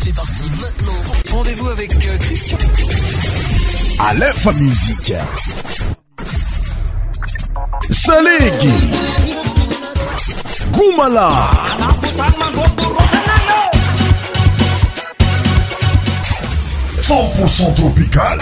fait partie maintenant. Rendez-vous avec Christian. Aleph Musique. Salegi. Goumala. 100% tropical.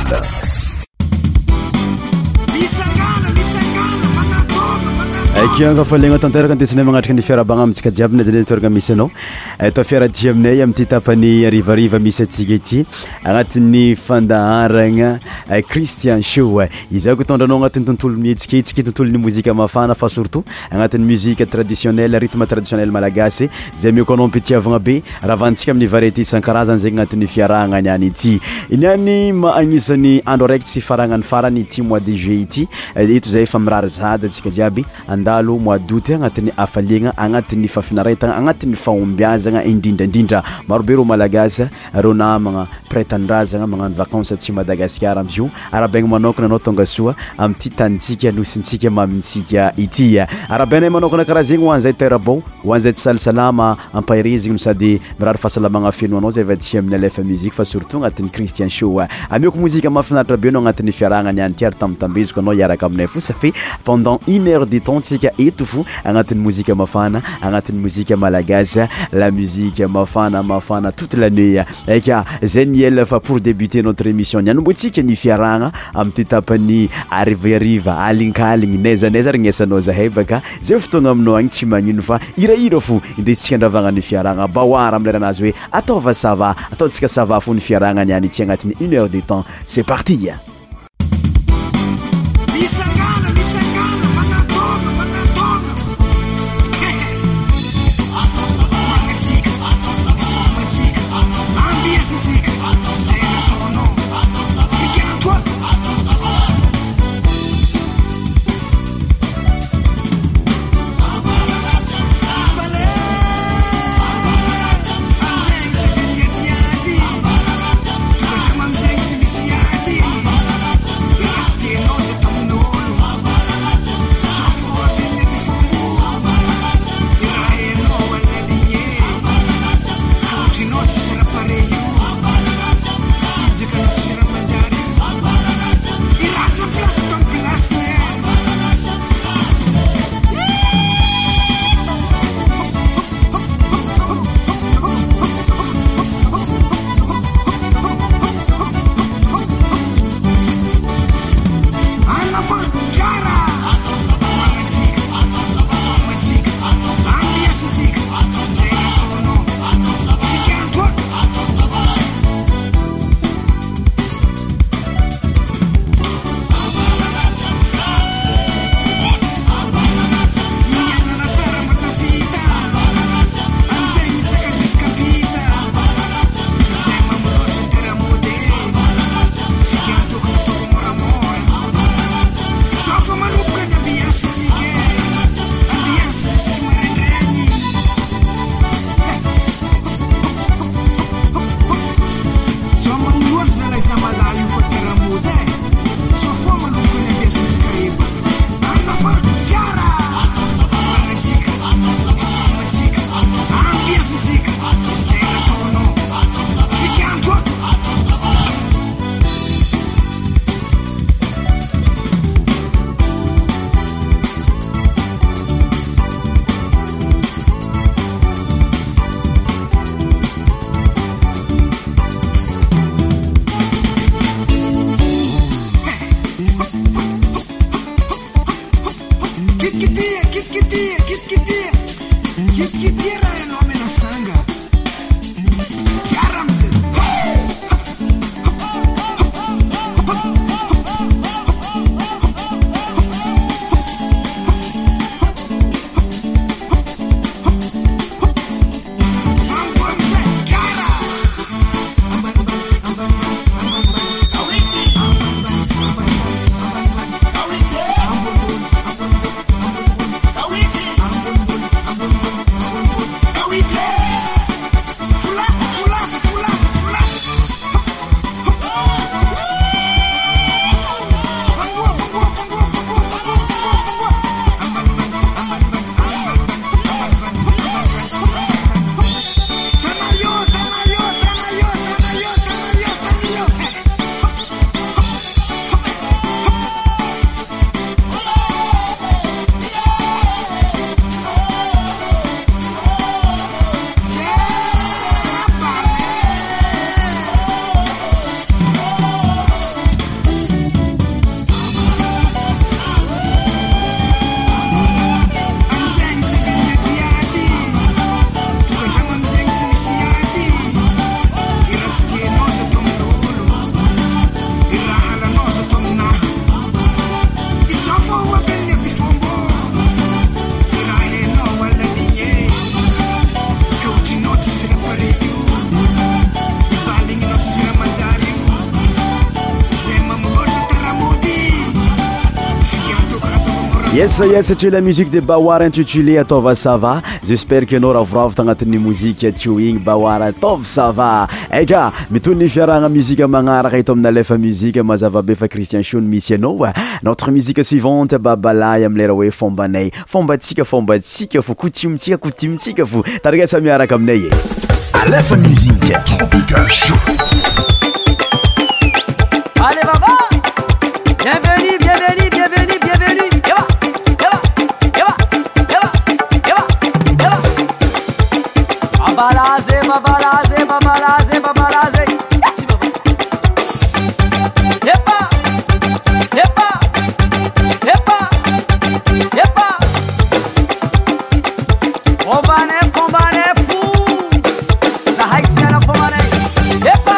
Kianga falegna tanteraka andesinay magnatrika ny fiarabagna amintsika jiaby na zany toerana misy anao atao fiaradia aminay amin'ity tapany arivariva misy atsika ity agnatin'ny fandaharagna Christian Show izako tondranao agnatin'ny tontolo mihetsiketsiky tontolon'ny mozika mafana fa surtout agnatin'ny musique traditionnelle rythme traditionnel malagasy zay mioko anao mpitiavagna be raha vantsika amin'ny variété isan-karazany zegny agnatin'ny fiarahagna niany ity iniany agnisan'ny andro araiky tsy faragnany farany ity mois de juillet ity eto zay efa mirary zady atsika jiaby andalo mois d'août agnatin'ny afaliagna agnatin'ny fafinaretagna agnatin'ny fahombiazagna indrindrandrindra marobe ro malagasy ro namagna prêtandrazagna magnano vacances tsy Madagasikara amzio arabegna manokana anao tonga soa am'ty tanitsika nosintsika mamintsika ity arabenay manokana karaha zegny hoan'izay terabon hoan'izay tsy salisalama ampahirizigny no sady mirary fahasalamagna feno anao zay vaty amin'ny Aleph Musique fa surtout agnatin'ny Christian Show amioko mozika mafinaritra be anao agnatin'ny fiarahagna niany ty ary tambatambeziko anao iaraka aminay fo ça fait pendant 1 heure de temps tsika eto fo agnatin'ny mozika mafana agnatin'ny mozika malagasy la musique mafana toute l'année eka zay niel fa pour débuter notre émission nianombotsika ny fiarahagna am'ty tapany arivariva alinkaligny naizanaiza regnesanao zahay baka zay fotoagna aminao agny tsy magnino fa hirahira fo indesitsika andravagna ny fiarahagna baoara amin'ny leranazy hoe ataova sava ataotsika sava fo ny fiarahagna niany ity agnatin'ny 1 heure de temps c'est parti. Misiati Yes, c'est la musique de Bawar intitulée Atova Sava. J'espère que nous ravravo tagnatin'ny musique tioing Bawar Atova Sava. Eka, mitony fiaragna musique magnaraka eto amina lefa musique mazava be fa Christian Shun misy anao. Notre musique suivante babalay am lera hoe fombanay. Fombatsika fo coutume-tsika fo. Tarigasa miaraka aminay. Alefa musique Tropical Show. Allez baba, bienvenue. Babalaze. Yepa. Fombane fou. Na haiti na fombane. Yepa.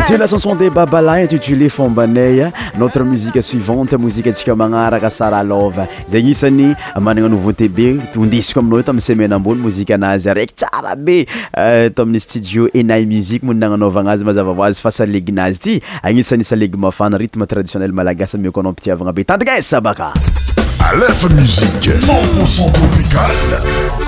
C'était la chanson des Babala intitulée Fombanay. Notre musique suivante, musique atsika magnaraka Sara Love. Zegny isany managna nouveauté be tondisiko aminao tamin'ny semaine ambony mozika anazy araiky tsara be to amin'ny studio Enay Musique mo nagnanaovagna azy mazava hoazy fa saleginazy ty agnisan'ny salegy mafana rythme traditionnel malagasy mioko anao mpitiavagna be tandrigesa baka Aleph Musique 100% tropical.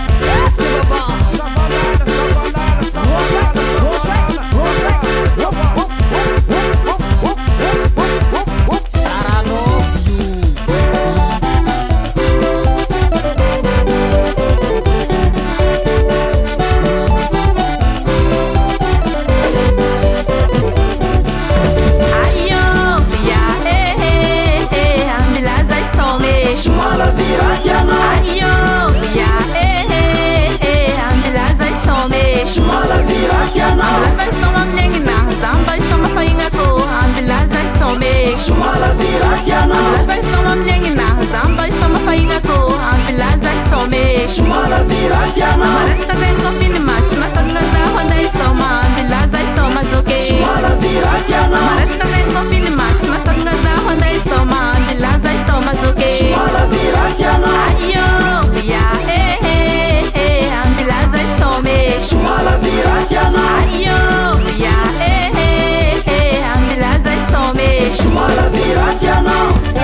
Maresta vengo fini mati, masanga za honda isoma, ambilaza isoma zoke. Maresta vengo fini mati, masanga za honda isoma, ambilaza isoma zoke. Ayo, ya ambilaza isome. Ayo, ya ambilaza isome.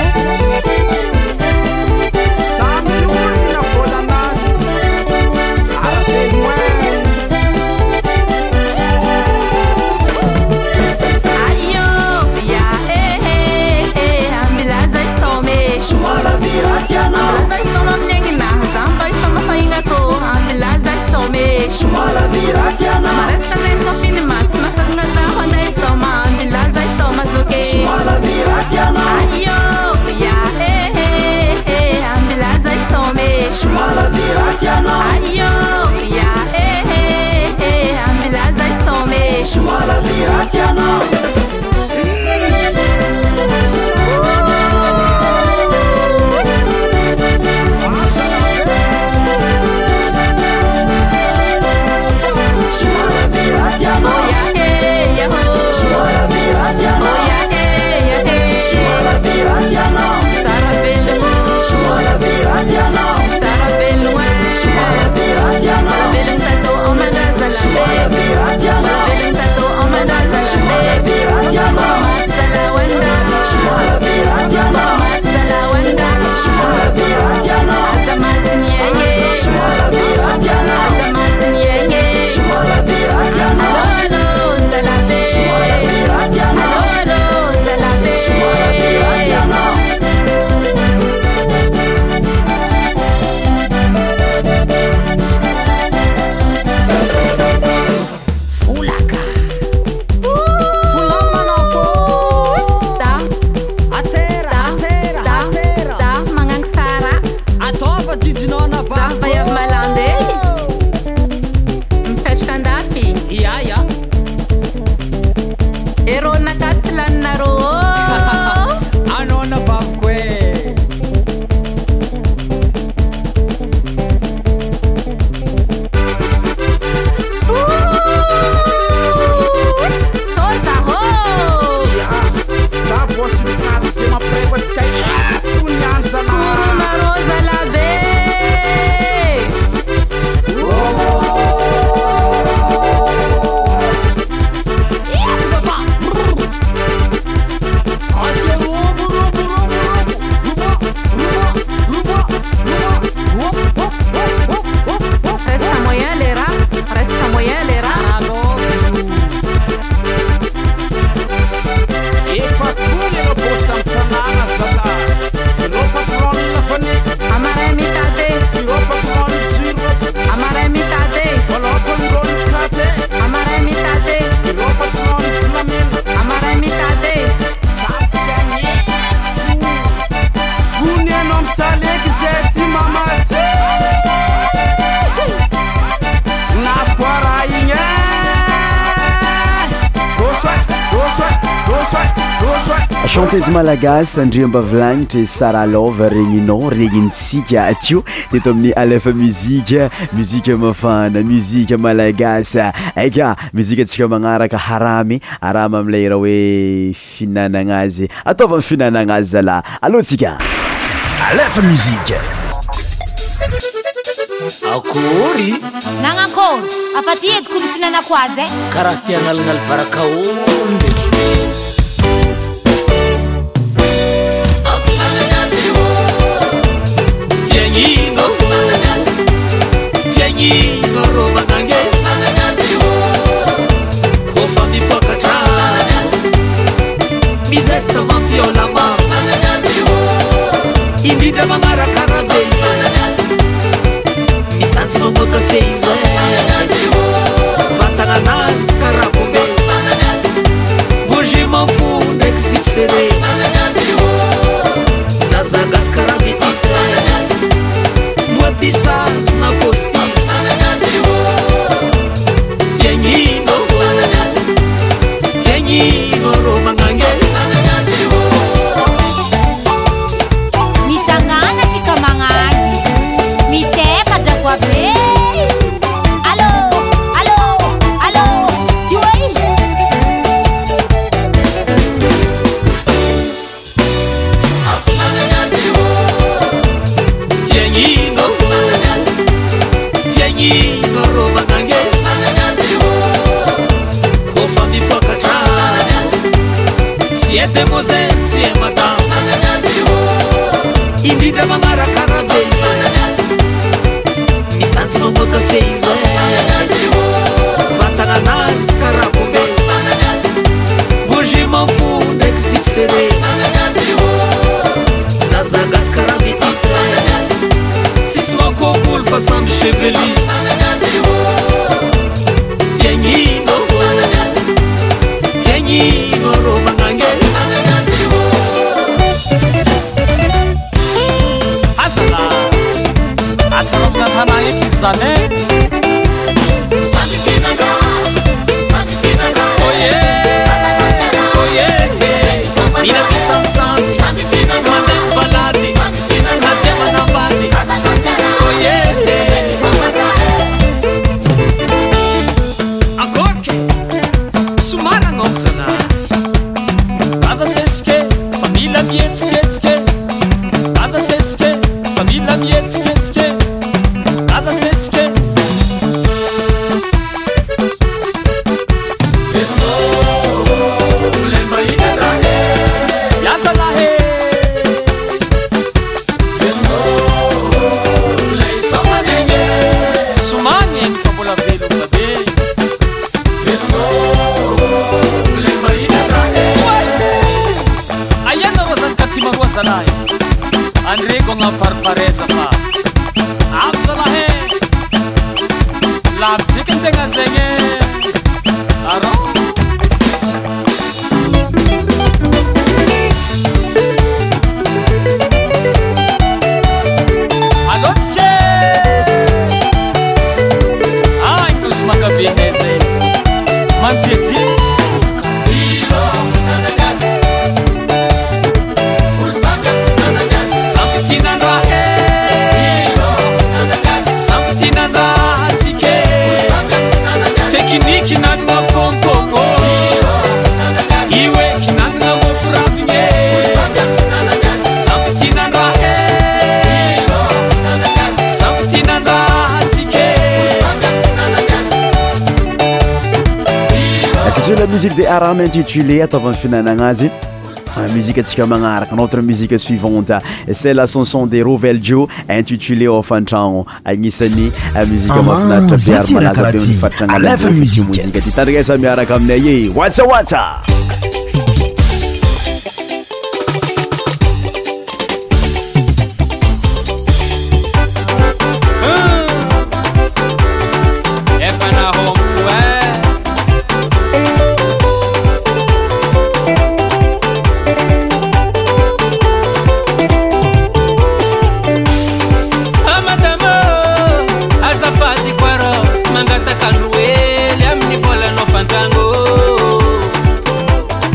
Maresta vengo fini mati, masanga za honda isoma, ambilaza isoma zoke. Ayo, ya ambilaza isome. Ayo, ya ambilaza isome. chanteuse malagasy Andriamba Vilagnitry Sara Love regninao regnintsika atio teto amin'ny Alefa musique mafana musique malagasy eka musique atsika magnaraka haramy am'lay raha hoe finanagna azy ataova finanagna azy zala allo tsika Alefa musique akory nagnakory afaty ediko ny finanako azy karaha tia analagnaly baraka omby tiagnino rô magnange kofa mipakatra mizesta mampiolama indrindra magnarakarabe misantsy mamoaka feize vatagnanazy karabombe voje manfo ndraiky sipsere zazagasy karametise voatisaz na postis tiagnino rô magnange mitsangana tsika magnany mitsefadrako abe allo allo allo ioy tiagnino rô magnange kofa mipakatra tsy e demoiselle tsy e madame indrindra magnarakarabe misantsy mamoaka feize vatagnanazy karabombe voje manfo ndraiky sipsere zazagasy karametise tsisy makovolo fa samby chevelis tiagnino rô magnange azala atsarovina tana eky izy zany mina misansanjy mandeha mibalady na dia manambady akoky somary anao zalahy aza sesike fa mila mietsiketsike aza sesike fa mila mietsiketsike aza sesike yasa lahe somagny eny fa mbola velogna be aiana rô zany katy maroa zalahy andreko agnaparipareza fa avy zalahy lavitriky ny tegna zegny arô alôtsike agnosy makabenay zay mantsiatsy tekniky nanagna fonkono iwe kinanagna mofuravigne samby tinandrahe samby tinandrahatsike c'est sur la musique des Aram intitulée ataovany finanagna azy musique atsika magnaraka notre musique suivante c'est la chanson de Rovel Joe intitulée Ofantragno agnisan'ny musique mafinaritra be ary malaza be nifatragna la musique ty tandrigasa miaraka aminay watsa Mangata kanruele amni vola no fantango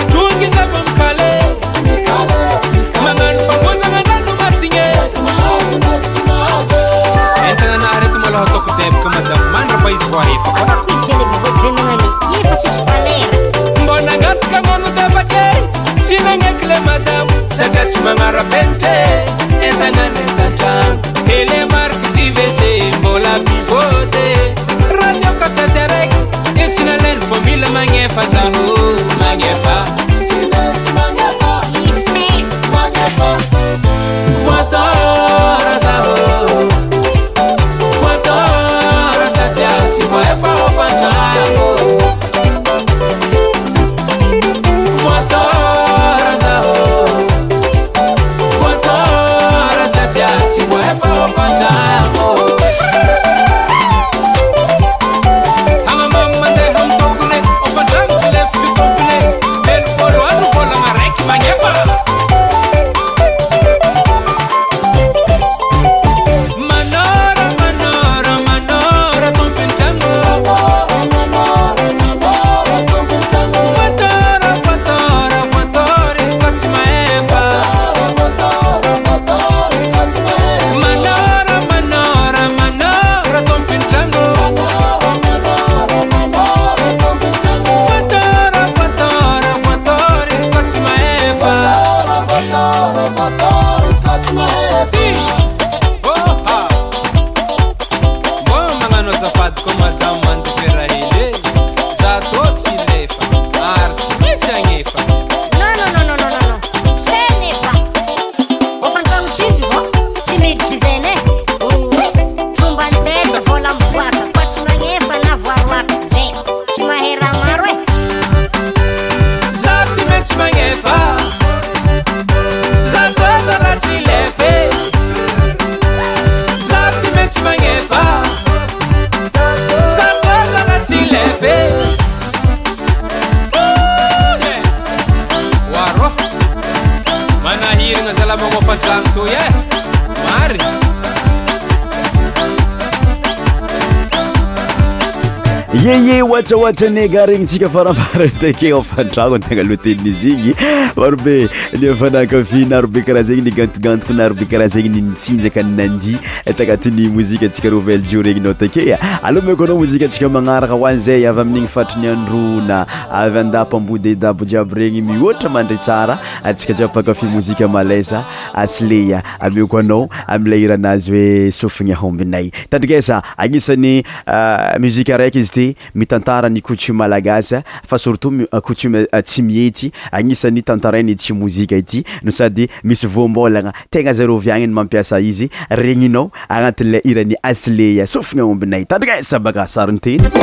Wacha negaregnintsika farambara take afandragno tegna aloha tenin'izy igny marobe ny afanakafy narobe karaha zegny nigantigantiko narobe karaha zegny nitsinjaka nandy tagnatiny mozika antsika Rovelle Dio regny nao take aloha meko anao mozika antsika magnaraka ho an'izay avy amin'igny fatriny androna avy andapambody dabo jiaby regny mihoatra mandry tsara antsika jiaby mpankafy mozika malaisa Asleya ameko anao am'ilay iranazy hoe sofigna hombinay tandrikesa agnisan'ny muzika raiky izy ty mitantara ny coutume malagasy fa surtout coutume tsy mihety agnisan'ny tantarainy ity mozika ity no sady misy voambolagna tegna zero viagniny mampiasa izy regninao agnatin'ilay irany Asleya sofigna hombinay tandrikesa baka sariny teny 100%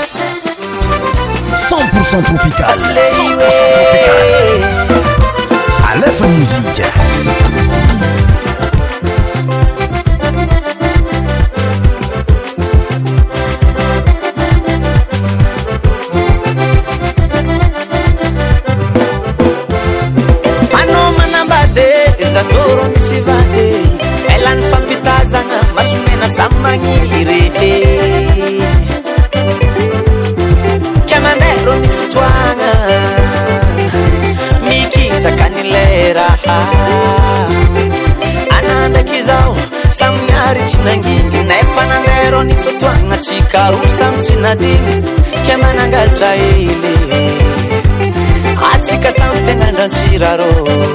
tropical 100% tropical Aleph Musique Zatoro misivade elan fampitazagna masomena samagniry kiamanero ny fotoagna mikisaka ny lera anandraky zao samignaritry nanginy nefa nanero ny fotoagna tsika roa samy tsy nadigny kiamanangalatra ele atsika samy tegna andrantsirarô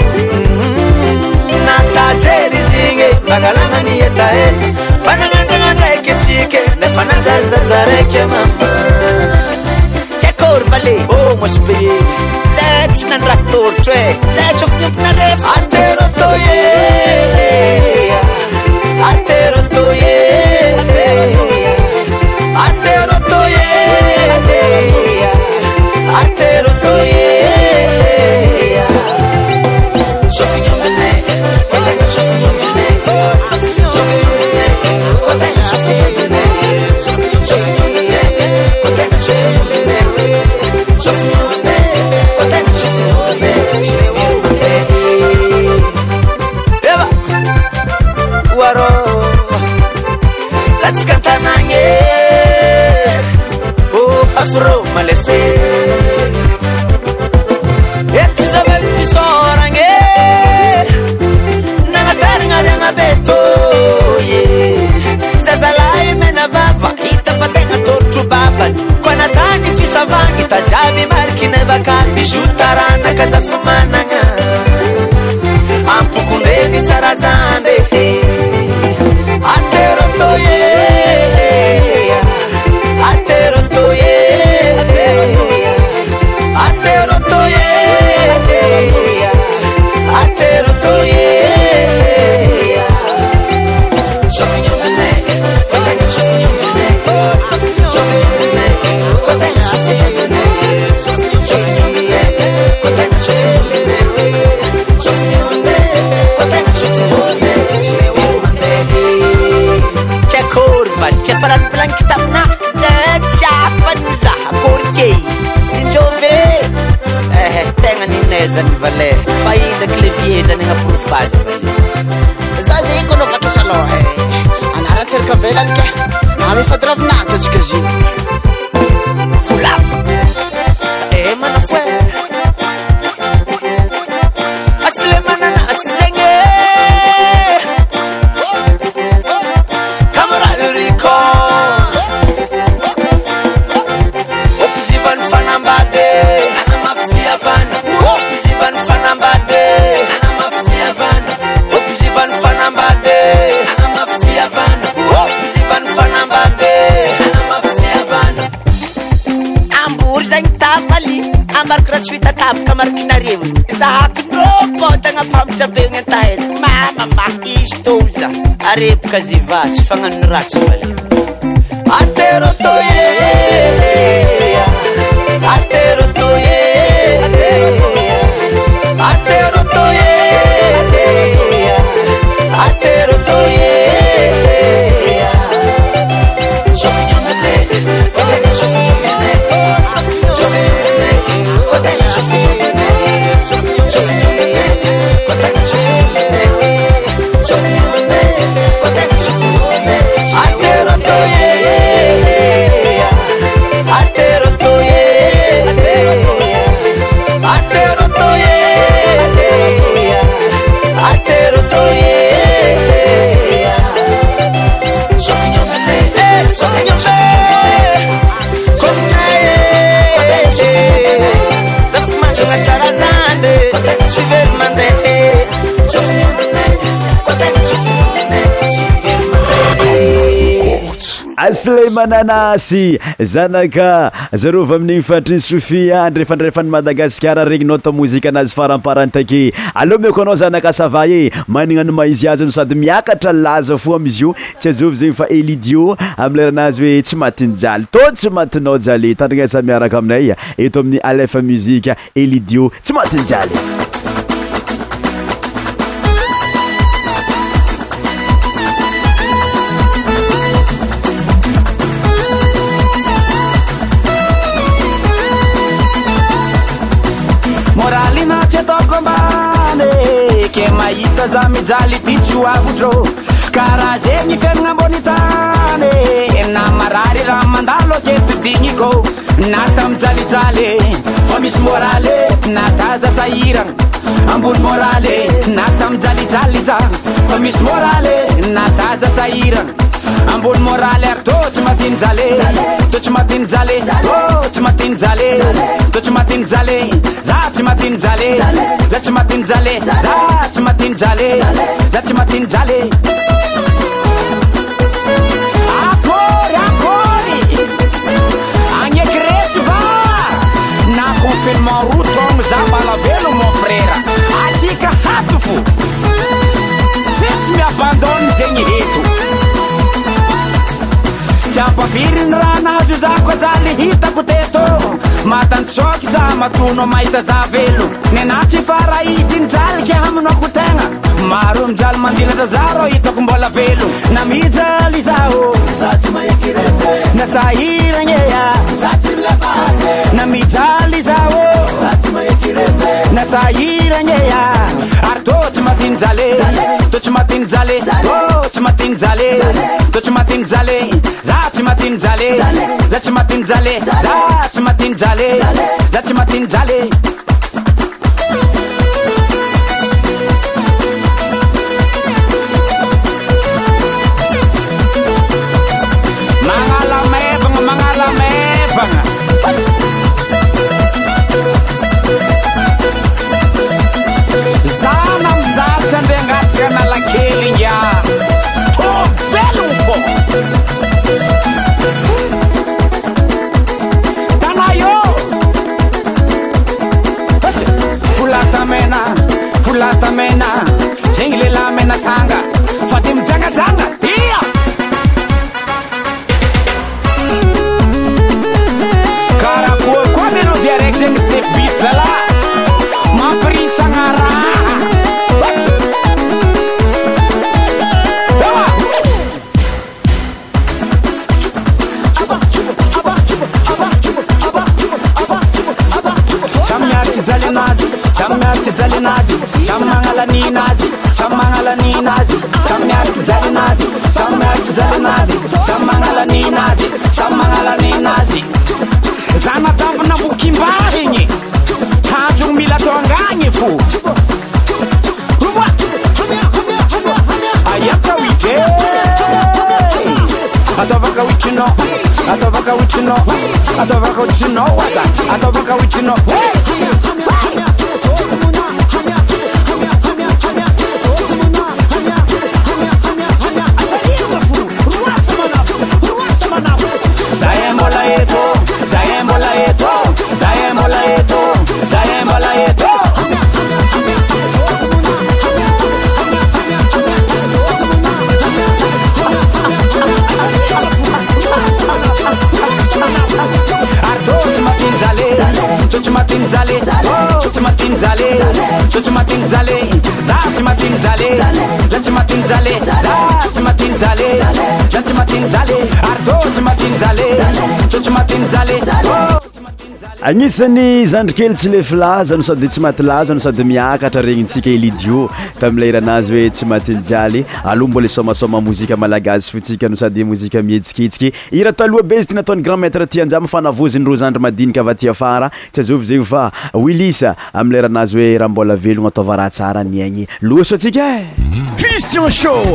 natajery zigny magalana ny etaeta managnandragna ndraiky atsika nefa nanjaryzaza raiky mama kiakory vale ô mosobe zay tsy nandraha torotro e zay sofignompona refa aterotoye aterotoye aterotoye aterotoye sofignompona Let's cantanange oh afro malese tajaby marikinevaka bijoutaranaka zafamanagna ampokondreny tsara zande aterotoye aterotoye aterotoye aterotoye Sofignone, contagna Sofignone, Sofignone, contagna Sofignone, Sofignone, contagna Sofignone, Sofignone, contagna Sofignone, Sofignone. C'è curva, c'è faran blanca tamna, c'è fanza, corche, injove. Tenga ninesa ni vale, fai da cleviesa ni aprofaz. Zaza ikono vakisalo, anara terkavelanke, nami fadravnato chikazi. Fulap, mana fue. Asle manana asenge, Camarade Rico, Opzivan fanambade, ana mafia vana, Opzivan fanambade, ana mafia vana, Opzivan fanambade, ana mafia vana, Opzivan fanambade, ana mafia vana. Ambur zany tapali, amariko ratsuita tapaka marikinareo. Zahako nopo tagna pamitra be gn'antaheza. Mama istoza, arepoka ziva tsy fagnano ratsy vale. Aterotoye, aterotoye, aterotoye, aterotoye. Sofignone, contagna Sofignone, Sofignone, contagna Sofignone, Sofignone, contagna Sofignone, Sofignone, contagna Sofignone. Aterotoye, aterotoye, aterotoye, aterotoye. Sofignone, Sofignone, Sofignone, Zafmanjo Sarazande, Chivermande, Sofignone, contagna Sofignone, Chivermande. Aslay mananasy zanaka zarova amin'ny fatry Sofia andrefandrefany Madagasikara regny nota mozika anazy faramparany take. Allo meko anao zanaka sava e magnano maizy azy no sady miakatra laza fo amizy io tsy azovy zegny fa Elidio amin'ny leranazy hoe tsy matiny jaly to tsy matinao jaly tandrignasa miaraka aminay eto amin'ny Alefa Musique Elidio tsy matiny jaly. Ke mahita za mijaly ty tsoavotro karaha zegny fiaignana ambony tany na marary raha mandalo aketidigniko na tamijalijaly fa misy moraly na taza sahiragna ambony moraly na tamijalijaly za fa misy moraly na taza sahiragna ambony moraly ary tô tsy matiny jaly tô tsy matiny jaly tô tsy matiny jaly tô tsy matiny jaly za tsy matiny jaly za tsy matiny jaly za tsy matiny jaly za tsy matiny jaly. Akory akory agneky va na confinement routron za balavelo mon frère atsika hato fo tsy miabandony zegny reto tsy ampaviriny raha nahazo zako ajaly hitako teto matantsôky za matono mahita za velo nenatsy farahidiny jaly ke haminako tegna maro mijaly mandilatra za ro hitako mbola velo na mijaly zaho na sahiragneya na mijaly zaho na sahiragneya ary tô tsy matiny jaly tô tsy matiny jaly tô tsy matiny jaly tô tsy matiny jaly za tsy matiny jaly za tsy matiny jaly za tsy matiny jaly za tsy matiny jaly. Mangala mevagna tamena zegny lehilahy mena sanga fa de mijangajanga dia karaha koa melody araiky zegny step beat zalahy mampiritsagna raha Samiarty jalinazy, samy magnala ninazy, samy magnala ninazy, samiarty jalinazy, samiarty jalinazy, samy magnala ninazy, samy magnala ninazy. Zana tampona vokimba igny, tanjogny mila atao angagny fo. Ayaka wite, ataovaka witrinao, ataovaka witrinao, ataovaka witrinao, ataovaka witrinao. agnisan'ny zandrikely tsy le filaza no sady tsy maty laza no sady miakatra regnintsika elidio tamin'ny leranazy hoe tsy maty jaly aloha mbola somasoma mozika malagasy fotsika no sady mozika mihetsiketsika ira taloha be izy ty nataony grand maître tianjama fanavoziny ro zandry madinika avy aty afara tsy azovy zegny fa Willisa amin'ny leranazy hoe raha mbola velogno ataova raha tsara niaigny loso atsika Christian Show,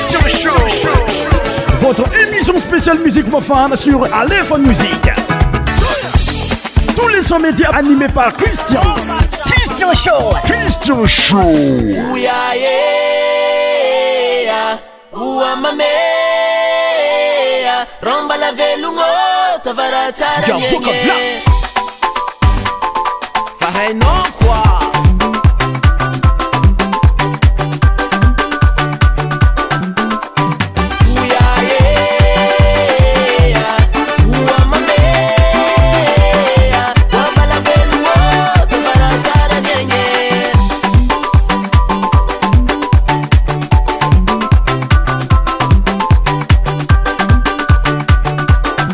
votre émission spéciale musique mofane sur Aléphone Musique. Tous les sons médias animés par Christian. Christian Show. Christian Show. Ouya yeah, ouya mame, romba la velungo, tavara tsara yenye. Fahay non quoi.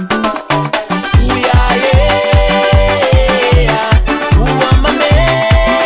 Yeah.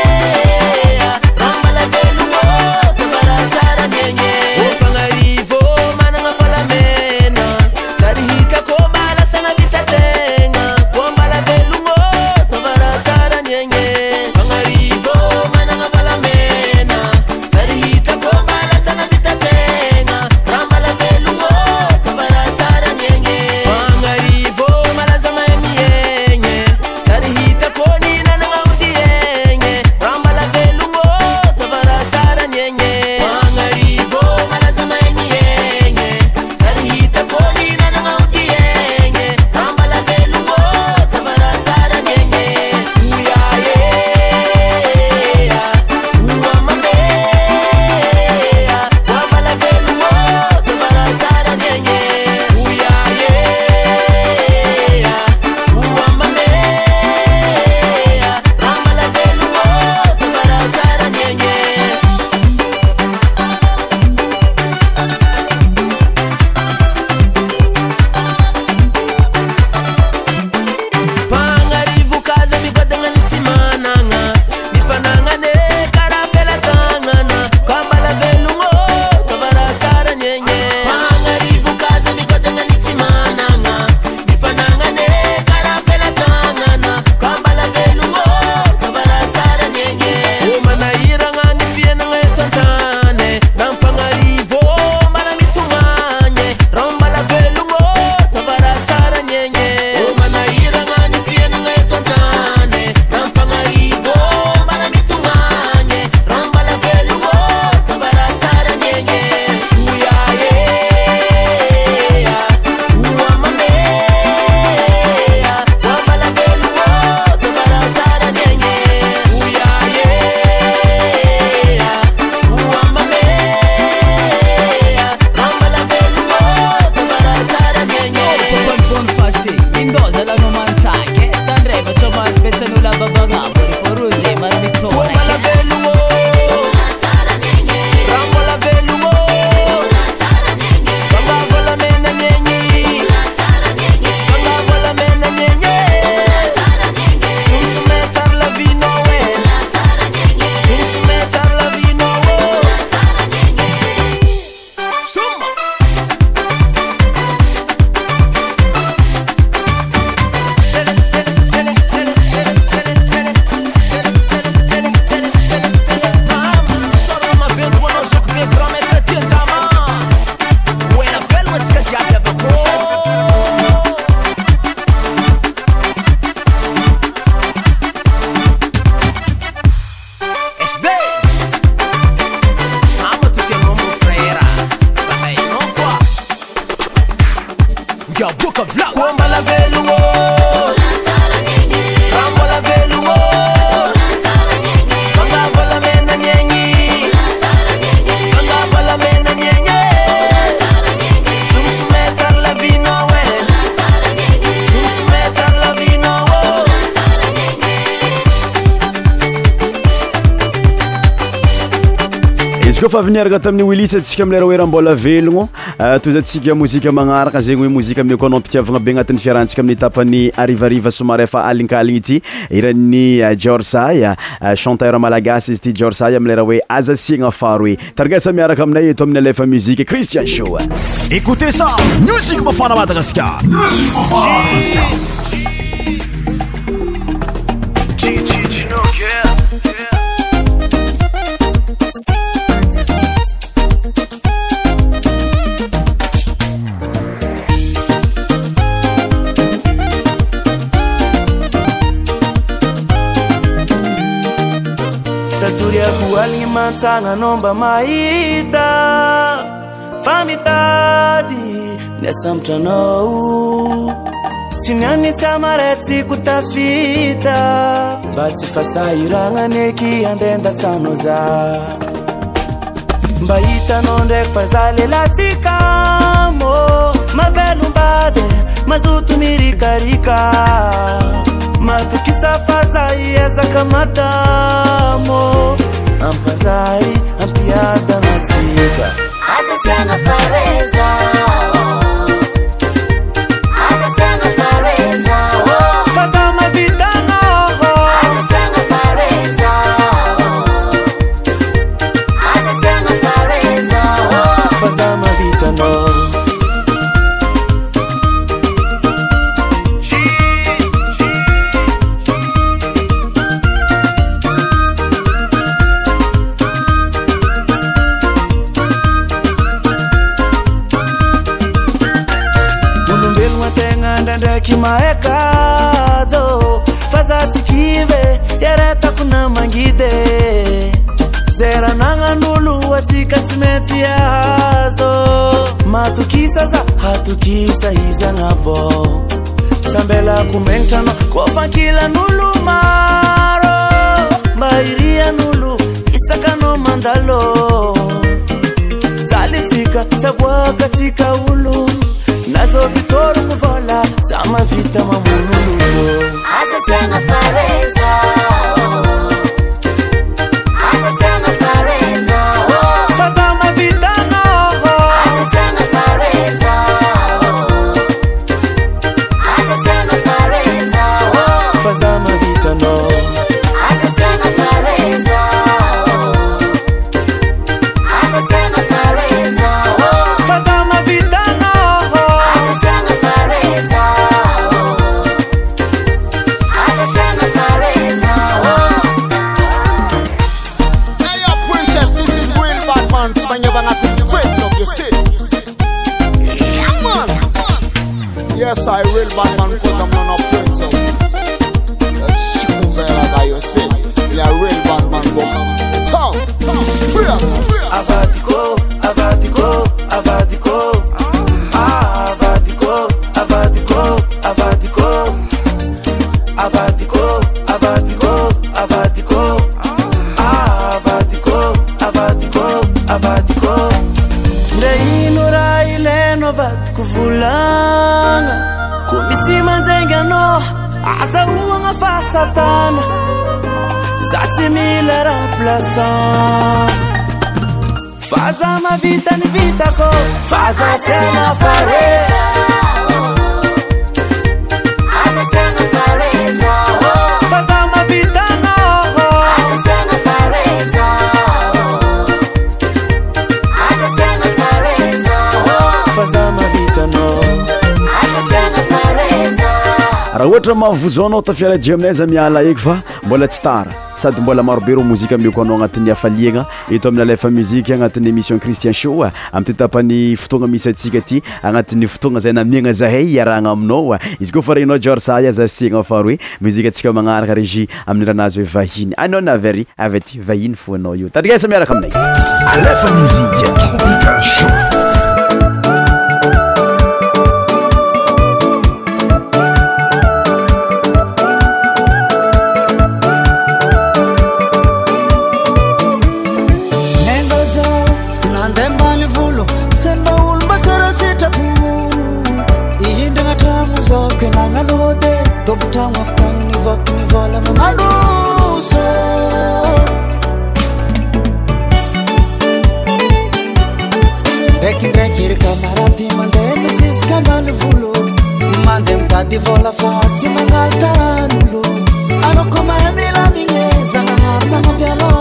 izy koa fa aviniaraka tamin'ny Willis atsika amilera hoe raha mbola velogno tozatsika mozika magnaraka zegny hoe mozika amin'ny koanao mpitiavagna be agnatin'ny fiarantsika amin'ny tapany arivariva somary efa alinkaligny ity iran'ny Jorsay chanteur malagasy izy ity Jorsay amilera hoe aza siagna faro hoe tarigasa miaraka aminay eto amin'ny alefa musique Christian Show. Écoutez ça, musique mafana Madagascar. Musique mafana Saturiaku alingi mansanga nomba maida famitadi nesamtranau sinyani tamareti kutafita bati fasairanga neki andenda tanoza mbaita nonde fazale latikamo mavelu mbade mazutu mirikarika matukisa fazai eza kamatamo ampanzai ampiada natsika Asa sana fareza Asa sana fareza Fazama vitano Asa sana fareza Asa sana fareza Fazama vitano Kimaekazo fazati kive yareta kuna mangide zera nanga nulu watika timeti yazo matukisa za hatukisa hiza ngabo sambela kumentano kofa kila nulu maro mairia nulu isakano mandalo zalitika tabwa katika ulu nazo vitoru muvala sama vita mamululu Asa sana fareza Asa sana fareza Fazama vitano Asa sana fareza Asa sana fareza Fazama vitano Asa sana fareza Asa sana fareza Fazama vitano Asa sana fareza Asa sana fareza Hey yo princess, this is real bad man. When you're gonna take the weight of your shit. Yeah man. Yes, I real bad man because I'm not a princess. That's Chikumbela by your shit. You're real bad man, go. Come, straight. Avatico, avatico, avatico avatico, avatico, avatico avatico, avatico, avatico avatico, avatico, avatico Ndeinura ileno avatico vulanga kumisima nzengano asa uanga fasatana zati mila ramplaça Faza ma vita ni vita ko Faza sema fare Asa sana fareza Faza ma vita no Asa sana fareza Asa sana fareza Faza ma vita no Asa sana fareza raha ohatra mahavozo anao tafiaradia aminay za miala eky fa mbola tsy tara sady mbola marobe ro mozika mioko anao agnatin'ny hafaliagna eto amin'ny alefa musique agnatin'ny émission Christian Show amin'ny tapany fotoagna misy atsika ty agnatin'ny fotoagna zay namiagna zahay iaragna aminao izy koa fa regnao Jorsay aza siagna fa roe muzika atsika magnaraka régie amin'ny ranazy hoe vahiny anao navary avy aty vahiny fo anao io tadrigasa miaraka aminay alefa musique Tropical Show. Tobutang of tang ni vok ni vola manuso Nadi vola fazzi mangaltaranulu Ano come milanine Zanahar mga piano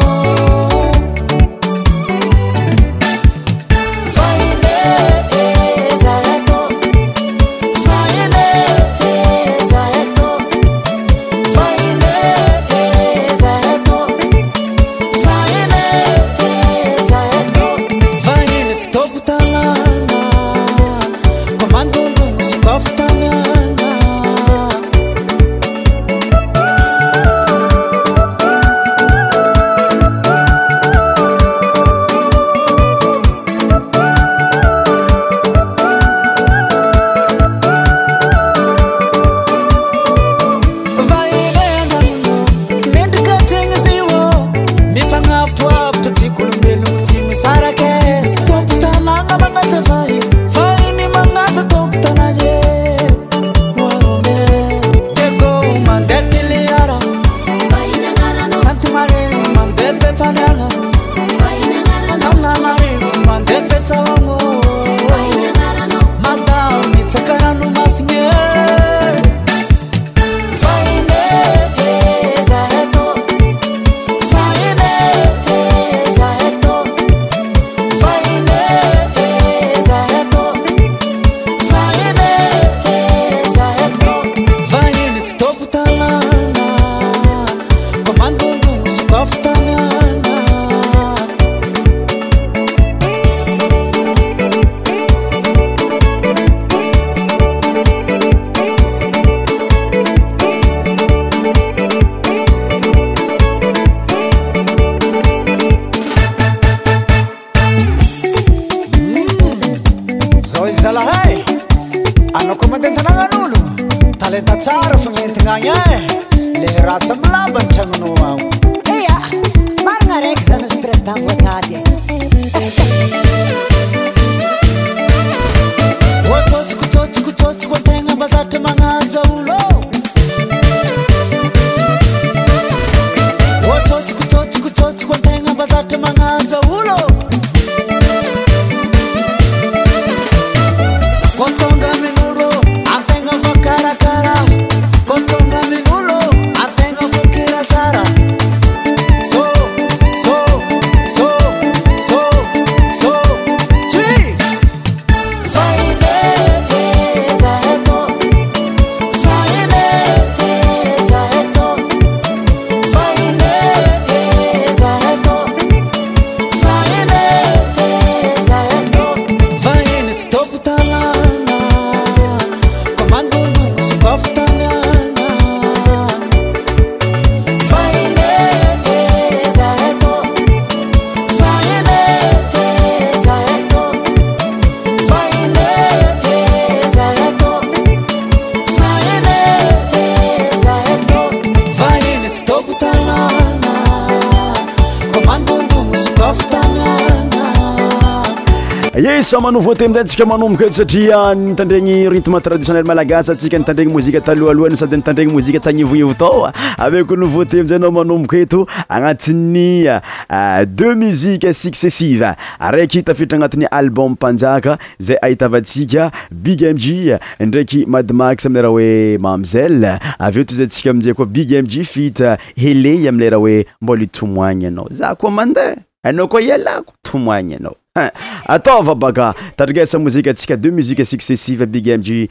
Sama nouveauté amintsika manomboka eto satria nitandregny rythme traditionnel malagasy atsika nitandregny mozika talohalohany sady nitandregny mozika tagnivoivo tao avec nouveauté amin'izay anao manomboka eto agnatin'ny deux musiques successives araiky tafiditra agnatin'ny album mpanjaka zay ahitavantsika Big MG ndraiky Mad Max amin'ny raha hoe Mamzelle avy eo tozatsika amin'izay koa Big MG feat Hele amin'ny raha hoe mbola itomoagny anao za koa mandeha anao koa ialako tomoagny anao Attends, baka tadrigasa muzika tsika deux musiques successives Big MG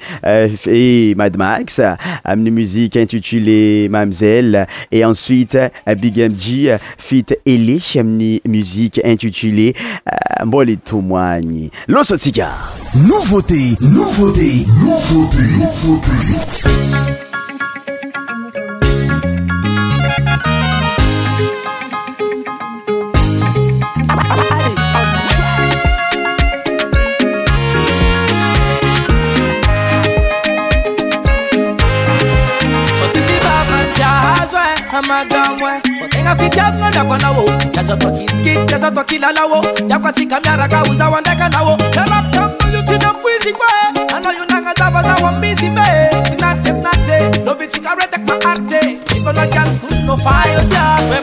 et Mad Max une musique intitulée Mamzelle et ensuite Big MG feat Ele une musique intitulée Mboli Tumwani Loso Tika Nouveauté Amagamwe Fotenga fikiamwa Dakwa nawo Chacha toki lalawo Dakwa tika miaraka uza wandeka nawo Kalap kambo yuchina kwizi kwe Ano yunanga zaba zawa mbizi me Finate Lovi chika retek ma arte Iko na gal kuno fayo ya We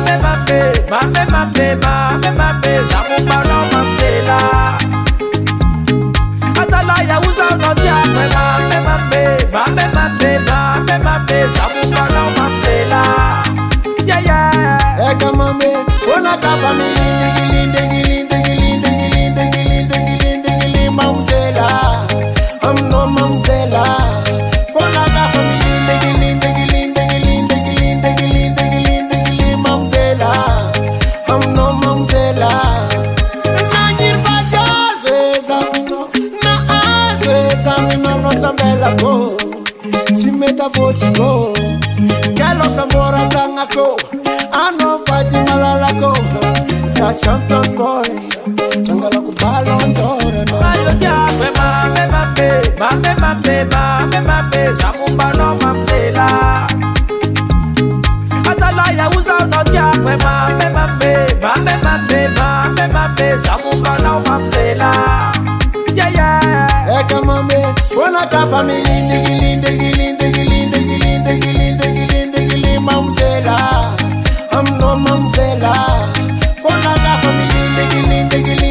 mame Zamu baro mamzela Azala ya uza unodia We mame samumba na mamzela. Yeah, yeah. Eka mame, ona ka family gili mamzela. I'm no mamzela. Fona ka family gili mamzela. I'm no mamzela. Na nyirva zweza mino, na azweza mino no sambela go. Simeta voti go. Galo samora tangako. Ano fati malalako. Sa champion boy. Changala ku Ballon d'Or. Mayo jakwe mame, samumba no mamzela. Atalaya uza no jakwe mame, samumba no mamzela. Yeah, yeah. Eka mame, ona ka family gili mamzela. I'm no mamzela. Fona ka family gili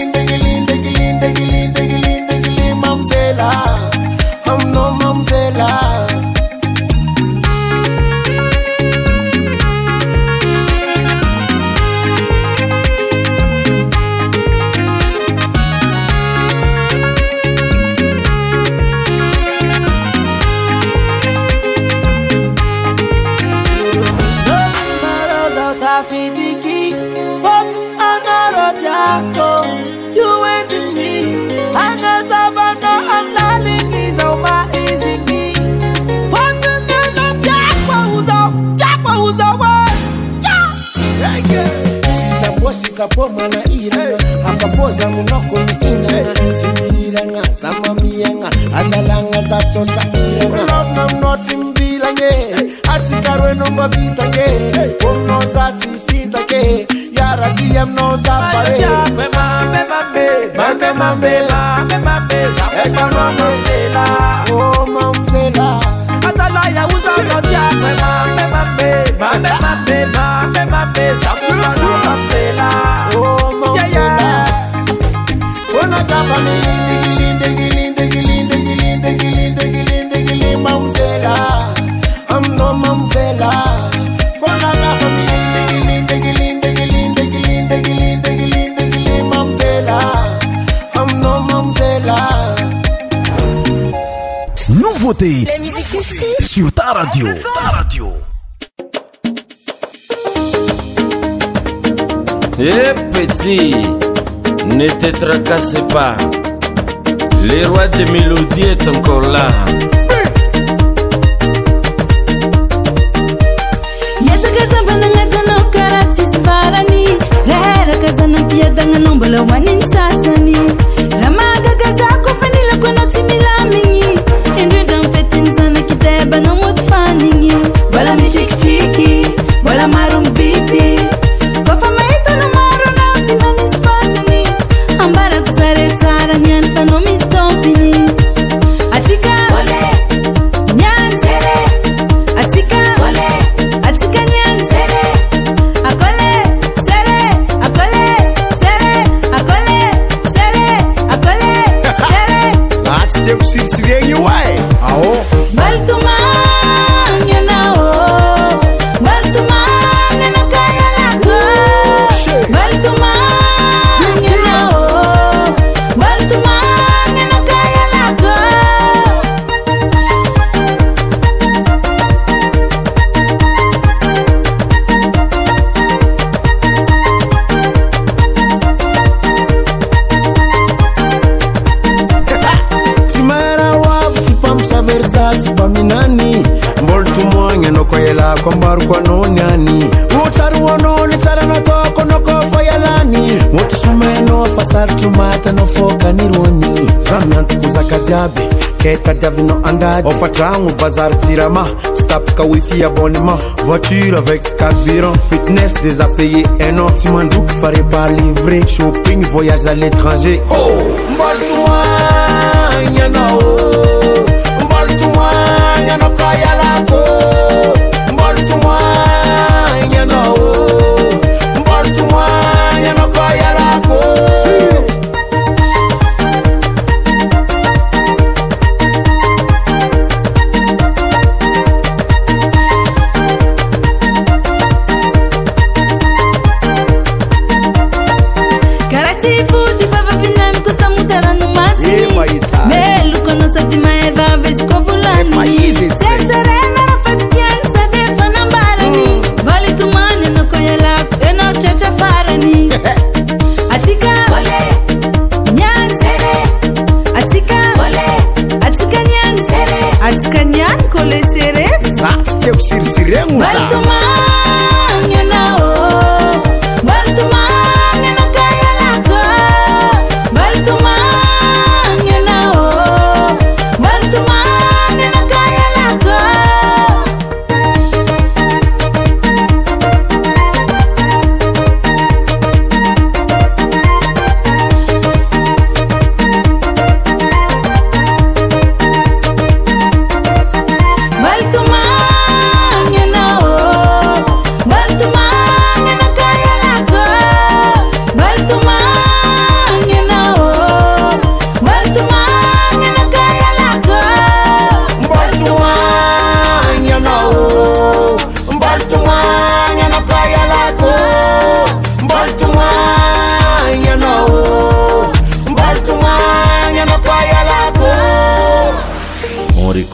mamzela. I'm no mamzela. You and me, and as I I'm lying is on my easy me. For the name Jack was Sitapo mana iranga afapoza munoko miina simiranga samamianga azalanga zatsosa iranga love nam not simbilange atikarwe no bavitange ono zatsi sitake yara diem no zapare mame eka mamzela oh mamzela atalaya uza no diakwe mame samumba no mamzela oh mamzela ona ka family gili mamzela I'm no mamzela fona ka family gili mamzela I'm no mamzela. Nouveauté sur ta radio. Eh petit, ne te tracasse pas. Le roi des mélodies est encore là. Kwambar kwa nonyani Utaru wanoni tara na toko no kofa yalani Mutu sumeno fasar tumata no foka nironi Zamnantu kuzaka jabe Keta javi no andade Ofa trangu bazar tirama Stop ka wifi abonnement Voiture avec carburant Fitness des a payé un an Timandouk fare pas livrer Shopping, voyage à l'étranger Oh, mbaltuwa Nyana oh Mbaltuwa Nyana kaya lako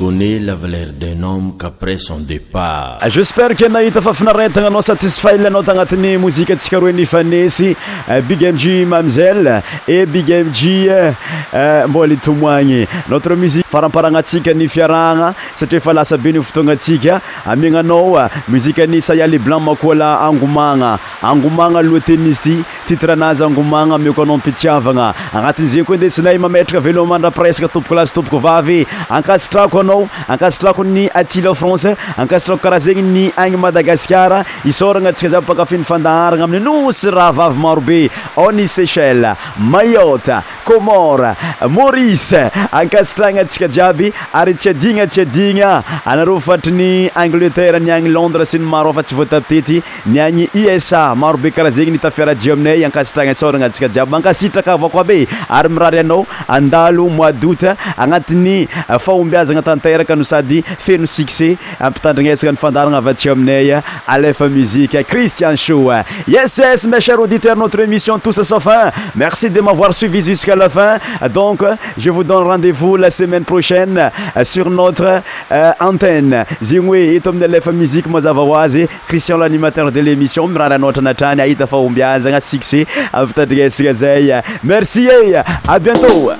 connaît la valeur d'un homme qu'après son départ. J'espère que nahita fafinaretagna anao satisfait anao tagnatin'ny mozika atsika roe nifanesy Big MG Mamzelle et Big MG mbola itomoagny notre musique faramparagnatsika ny fiaragna satria efa lasa be ny fotoagna atsika amignanao muzika ny Sayali Blanc makola angomagna loatennisty titre anazy angomagna mioko anao mpitiavagna agnatin'izay koa ndesinay mametraka velo mandra presque tompoko lasy tompoko vavy ankasitrako anao ankasitrako ny Attila France ankasitrako karaha zegny ny agny Madagascar isoragna atsika zay pakafiny fandaharagna amin'ny nosy raha vavy marobe ao ny Seychelles, Mayotte, Comore, Maurice ankasitragna atsika jiaby ary tsy adigna anareo fatry ny Angleterre ny agny Londres sy ny maro fa tsy voatapitety ny agny USA marobe karaha zegny nitafiaradio aminay ankasitragna isoragna atsika jiaby mankasitraka avao koa be ary mirary anao andalo mois d'août agnatin'ny fahombiazagna tanteraka no sady feno succès ampitandrignesaka ny fandaragna avy atsika aminay Aleph Musique Christian Show. Yes, mes chers auditeurs, notre émission Tous sauf un. Merci de m'avoir suivi jusqu'à la fin. Donc, je vous donne rendez-vous la semaine prochaine sur notre antenne. Zingwe itom Aleph Musique Mazavawazi, Christian l'animateur de l'émission, Mrana notre natani aita fahombiazagna succès ampitandrignesaka zay. Merci et à bientôt.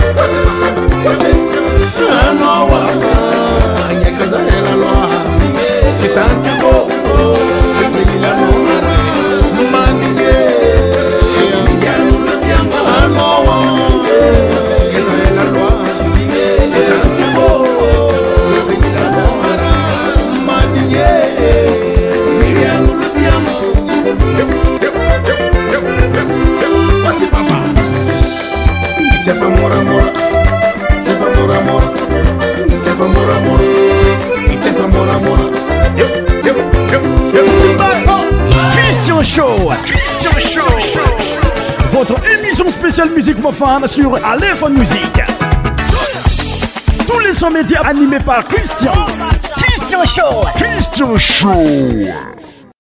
I know c'est pas mon amour, c'est pas mon amour, c'est pas mon amour, c'est pas mon amour. Christian Show, votre émission spéciale musique mofane sur Aléphone Musique. Tous les sons médias animés par Christian Show.